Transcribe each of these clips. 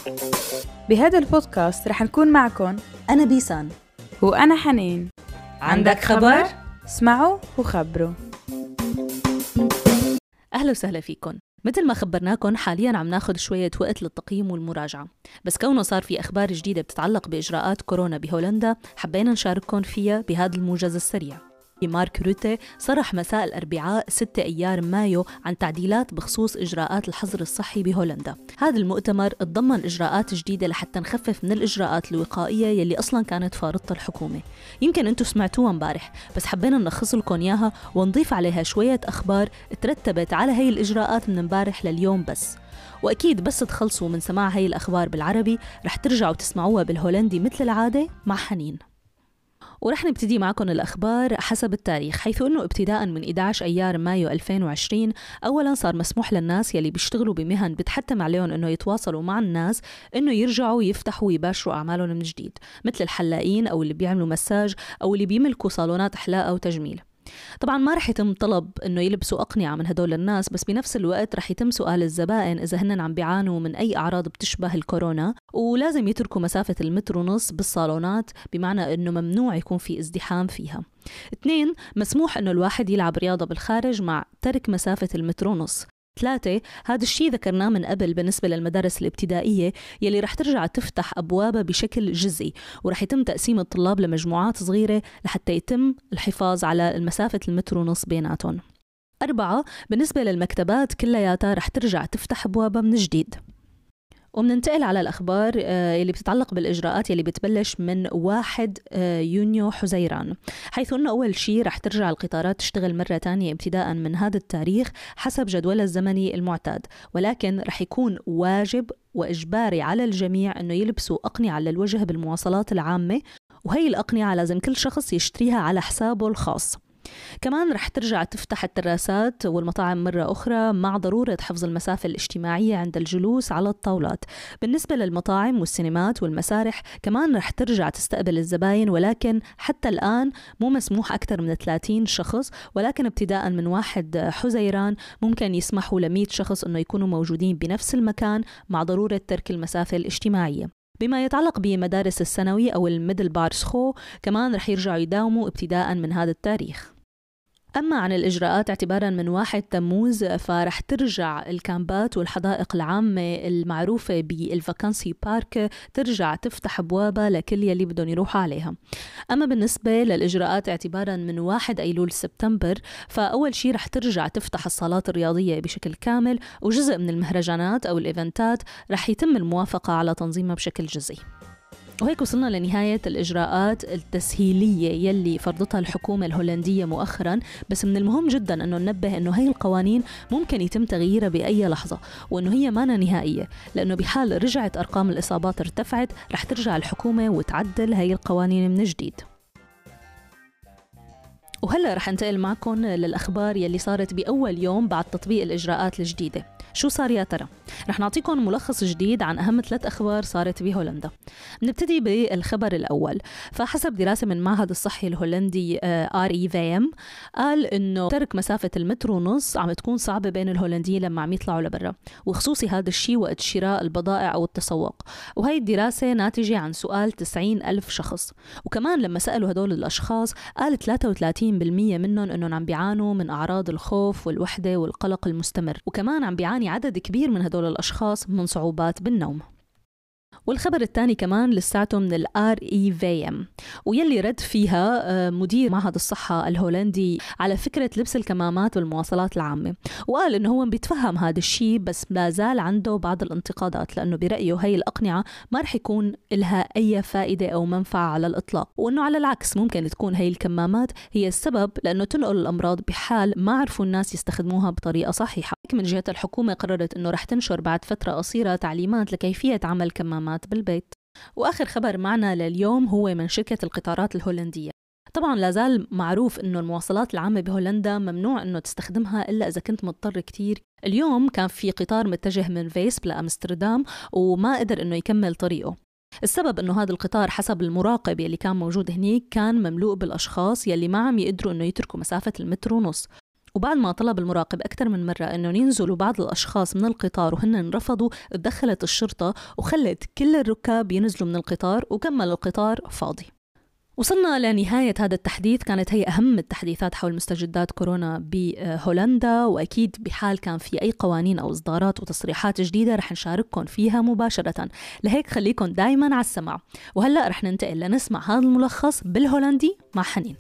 بهذا البودكاست رح نكون معكم أنا بيسان وأنا حنين. عندك خبر؟ اسمعوا وخبروا. أهلا وسهلا فيكم. مثل ما خبرناكم حالياً عم ناخد شوية وقت للتقييم والمراجعة، بس كونه صار في أخبار جديدة بتتعلق بإجراءات كورونا بهولندا حبينا نشارككم فيها بهذا الموجز السريع. مارك روتي صرح مساء الأربعاء 6 أيار مايو عن تعديلات بخصوص إجراءات الحظر الصحي بهولندا. هذا المؤتمر تضمن إجراءات جديدة لحتى نخفف من الإجراءات الوقائية يلي أصلاً كانت فارضتها الحكومة. يمكن أنتم سمعتوها مبارح، بس حبينا نلخص لكم إياها ونضيف عليها شوية أخبار ترتبت على هاي الإجراءات من مبارح لليوم بس. وأكيد بس تخلصوا من سماع هاي الأخبار بالعربي رح ترجعوا تسمعوها بالهولندي مثل العادة مع حنين. ورح نبتدي معكم الأخبار حسب التاريخ، حيث أنه ابتداء من 11 أيار مايو 2020 أولا صار مسموح للناس يلي بيشتغلوا بمهن بتحتم عليهم أنه يتواصلوا مع الناس أنه يرجعوا يفتحوا ويباشروا أعمالهم من جديد، مثل الحلاقين أو اللي بيعملوا مساج أو اللي بيملكوا صالونات حلاقة وتجميل. طبعا ما رح يتم طلب انه يلبسوا اقنعه من هدول الناس، بس بنفس الوقت رح يتم سؤال الزبائن اذا هن عم بيعانوا من اي اعراض بتشبه الكورونا، ولازم يتركوا مسافه المتر ونص بالصالونات، بمعنى انه ممنوع يكون في ازدحام فيها. 2 مسموح انه الواحد يلعب رياضه بالخارج مع ترك مسافه المتر ونص. 3 هذا الشيء ذكرناه من قبل بالنسبة للمدارس الابتدائية يلي رح ترجع تفتح أبوابها بشكل جزئي، ورح يتم تقسيم الطلاب لمجموعات صغيرة لحتى يتم الحفاظ على المسافة المتر ونص بيناتهم. 4 بالنسبة للمكتبات كلياتها رح ترجع تفتح أبوابها من جديد. ومننتقل على الأخبار اللي بتتعلق بالإجراءات اللي بتبلش من 1 يونيو حزيران، حيث أنه أول شيء رح ترجع القطارات تشتغل مرة تانية ابتداء من هذا التاريخ حسب جدولها الزمني المعتاد، ولكن رح يكون واجب وإجباري على الجميع أنه يلبسوا أقنعة للوجه بالمواصلات العامة، وهي الأقنعة لازم كل شخص يشتريها على حسابه الخاص. كمان رح ترجع تفتح التراسات والمطاعم مرة أخرى مع ضرورة حفظ المسافة الاجتماعية عند الجلوس على الطاولات. بالنسبة للمطاعم والسينمات والمسارح كمان رح ترجع تستقبل الزباين، ولكن حتى الآن مو مسموح أكثر من 30 شخص، ولكن ابتداء من 1 حزيران ممكن يسمحوا ل100 شخص أنه يكونوا موجودين بنفس المكان مع ضرورة ترك المسافة الاجتماعية. بما يتعلق بمدارس الثانوي أو الميدل بارسخو كمان رح يرجعوا يداوموا ابتداء من هذا التاريخ. أما عن الإجراءات اعتباراً من 1 تموز فرح ترجع الكامبات والحدائق العامة المعروفة بالفاكانسي بارك ترجع تفتح أبوابها لكل يلي بدهم يروحوا عليها. أما بالنسبة للإجراءات اعتباراً من 1 أيلول سبتمبر فأول شيء رح ترجع تفتح الصالات الرياضية بشكل كامل، وجزء من المهرجانات أو الإيفنتات رح يتم الموافقة على تنظيمها بشكل جزئي. وهيك وصلنا لنهاية الإجراءات التسهيلية يلي فرضتها الحكومة الهولندية مؤخراً، بس من المهم جداً أنه ننبه أنه هاي القوانين ممكن يتم تغييرها بأي لحظة، وأنه هي مانا نهائية، لأنه بحال رجعت أرقام الإصابات ارتفعت رح ترجع الحكومة وتعدل هاي القوانين من جديد. وهلأ رح انتقل معكم للأخبار يلي صارت بأول يوم بعد تطبيق الإجراءات الجديدة. شو صار يا ترى؟ رح نعطيكم ملخص جديد عن أهم 3 أخبار صارت بهولندا. نبتدي بالخبر الأول. فحسب دراسة من معهد الصحي الهولندي RIVM قال إنه ترك مسافة المتر ونص عم تكون صعبة بين الهولنديين لما عم يطلعوا لبرا، وخصوصي هذا الشيء وقت شراء البضائع أو التسوق. وهي الدراسة ناتجة عن سؤال 90,000 شخص، وكمان لما سألوا هدول الأشخاص قال 33% منهم إنهم عم بيعانوا من أعراض الخوف والوحدة والقلق المستمر، وكمان عم بيعاني عدد كبير من هدول الأشخاص من صعوبات بالنوم. والخبر الثاني كمان لساته من RIVM، ويلي رد فيها مدير معهد الصحة الهولندي على فكرة لبس الكمامات بالمواصلات العامة، وقال إنه هو بيتفهم هذا الشيء بس لا زال عنده بعض الانتقادات، لأنه برأيه هاي الأقنعة ما رح يكون لها أي فائدة أو منفعة على الإطلاق، وإنه على العكس ممكن تكون هاي الكمامات هي السبب لأنه تنقل الأمراض بحال ما عرفوا الناس يستخدموها بطريقة صحيحة. من جهة الحكومة قررت إنه رح تنشر بعد فترة قصيرة تعليمات لكيفية عمل كمامات بالبيت. وآخر خبر معنا لليوم هو من شركة القطارات الهولندية. طبعا لازال معروف إنه المواصلات العامة بهولندا ممنوع إنه تستخدمها إلا إذا كنت مضطر كتير. اليوم كان في قطار متجه من فيسب لأمستردام وما قدر إنه يكمل طريقه. السبب إنه هذا القطار حسب المراقب يلي كان موجود هنيك كان مملوء بالأشخاص يلي ما عم يقدروا إنه يتركوا مسافة المتر ونص، وبعد ما طلب المراقب أكثر من مرة أنه ينزلوا بعض الأشخاص من القطار وهن رفضوا، تدخلت الشرطة وخلت كل الركاب ينزلوا من القطار وكمل القطار فاضي. وصلنا لنهاية هذا التحديث، كانت هي أهم التحديثات حول مستجدات كورونا بهولندا، وأكيد بحال كان في أي قوانين أو إصدارات وتصريحات جديدة رح نشارككم فيها مباشرة، لهيك خليكم دايما على السمع. وهلأ رح ننتقل لنسمع هذا الملخص بالهولندي مع حنين.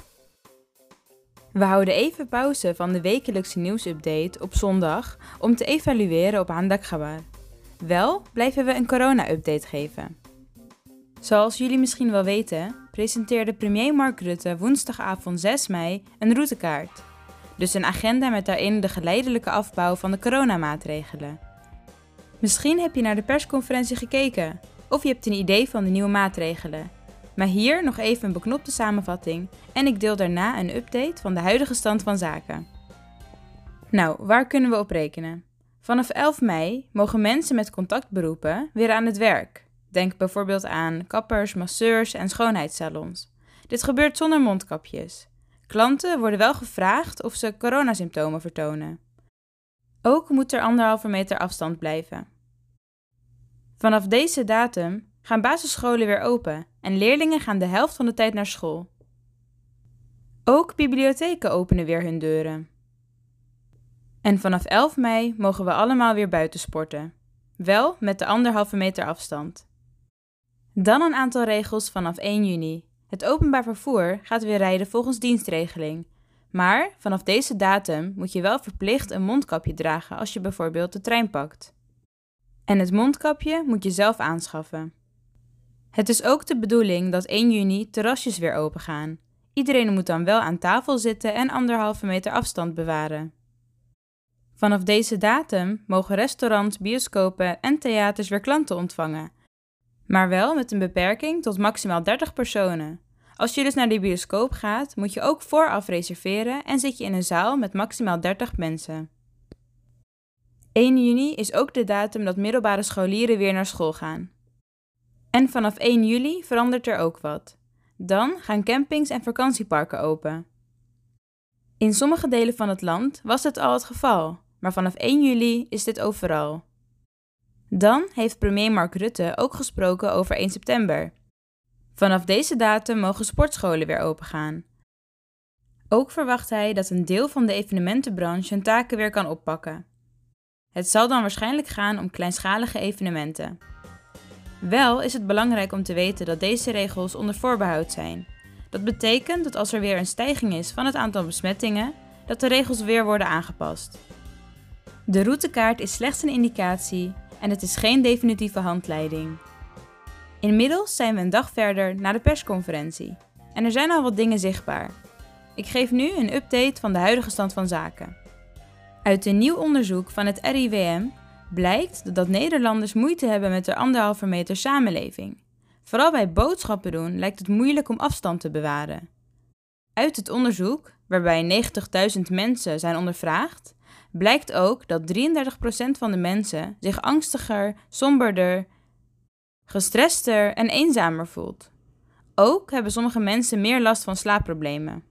We houden even pauze van de wekelijkse nieuwsupdate op zondag om te evalueren op Handak Khabar. Wel blijven we een corona-update geven. Zoals jullie misschien wel weten, presenteerde premier Mark Rutte woensdagavond 6 mei een routekaart. Dus een agenda met daarin de geleidelijke afbouw van de coronamaatregelen. Misschien heb je naar de persconferentie gekeken, of je hebt een idee van de nieuwe maatregelen. Maar hier nog even een beknopte samenvatting en ik deel daarna een update van de huidige stand van zaken. Nou, waar kunnen we op rekenen? Vanaf 11 mei mogen mensen met contactberoepen weer aan het werk. Denk bijvoorbeeld aan kappers, masseurs en schoonheidssalons. Dit gebeurt zonder mondkapjes. Klanten worden wel gevraagd of ze coronasymptomen vertonen. Ook moet er 1,5 meter afstand blijven. Vanaf deze datum gaan basisscholen weer open en leerlingen gaan de helft van de tijd naar school. Ook bibliotheken openen weer hun deuren. En vanaf 11 mei mogen we allemaal weer buiten sporten. Wel met de 1,5 meter afstand. Dan een aantal regels vanaf 1 juni. Het openbaar vervoer gaat weer rijden volgens dienstregeling. Maar vanaf deze datum moet je wel verplicht een mondkapje dragen als je bijvoorbeeld de trein pakt. En het mondkapje moet je zelf aanschaffen. Het is ook de bedoeling dat 1 juni terrasjes weer open gaan. Iedereen moet dan wel aan tafel zitten en 1,5 meter afstand bewaren. Vanaf deze datum mogen restaurants, bioscopen en theaters weer klanten ontvangen. Maar wel met een beperking tot maximaal 30 personen. Als je dus naar de bioscoop gaat, moet je ook vooraf reserveren en zit je in een zaal met maximaal 30 mensen. 1 juni is ook de datum dat middelbare scholieren weer naar school gaan. En vanaf 1 juli verandert er ook wat. Dan gaan campings en vakantieparken open. In sommige delen van het land was dit al het geval, maar vanaf 1 juli is dit overal. Dan heeft premier Mark Rutte ook gesproken over 1 september. Vanaf deze datum mogen sportscholen weer opengaan. Ook verwacht hij dat een deel van de evenementenbranche hun taken weer kan oppakken. Het zal dan waarschijnlijk gaan om kleinschalige evenementen. Wel is het belangrijk om te weten dat deze regels onder voorbehoud zijn. Dat betekent dat als er weer een stijging is van het aantal besmettingen, dat de regels weer worden aangepast. De routekaart is slechts een indicatie en het is geen definitieve handleiding. Inmiddels zijn we een dag verder na de persconferentie en er zijn al wat dingen zichtbaar. Ik geef nu een update van de huidige stand van zaken. Uit een nieuw onderzoek van het RIVM blijkt dat Nederlanders moeite hebben met de 1,5 meter samenleving. Vooral bij boodschappen doen lijkt het moeilijk om afstand te bewaren. Uit het onderzoek, waarbij 90.000 mensen zijn ondervraagd, blijkt ook dat 33% van de mensen zich angstiger, somberder, gestrester en eenzamer voelt. Ook hebben sommige mensen meer last van slaapproblemen.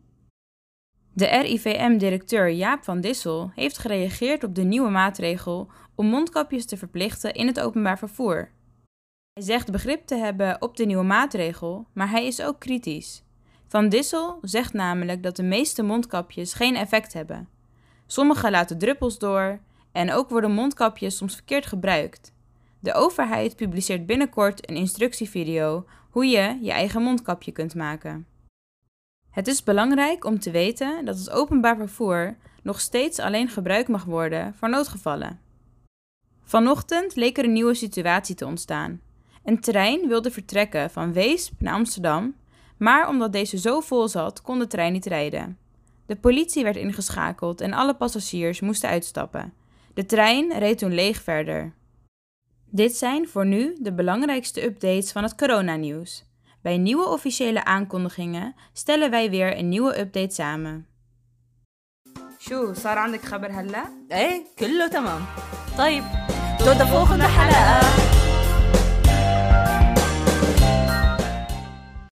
De RIVM-directeur Jaap van Dissel heeft gereageerd op de nieuwe maatregel om mondkapjes te verplichten in het openbaar vervoer. Hij zegt begrip te hebben op de nieuwe maatregel, maar hij is ook kritisch. Van Dissel zegt namelijk dat de meeste mondkapjes geen effect hebben. Sommige laten druppels door en ook worden mondkapjes soms verkeerd gebruikt. De overheid publiceert binnenkort een instructievideo hoe je je eigen mondkapje kunt maken. Het is belangrijk om te weten dat het openbaar vervoer nog steeds alleen gebruikt mag worden voor noodgevallen. Vanochtend leek er een nieuwe situatie te ontstaan. Een trein wilde vertrekken van Weesp naar Amsterdam, maar omdat deze zo vol zat, kon de trein niet rijden. De politie werd ingeschakeld en alle passagiers moesten uitstappen. De trein reed toen leeg verder. Dit zijn voor nu de belangrijkste updates van het coronanieuws. Bij nieuwe officiële aankondigingen stellen wij weer een nieuwe update samen. شو صار عندك خبر هلا؟ ايه كله تمام. طيب tot de volgende حلقة.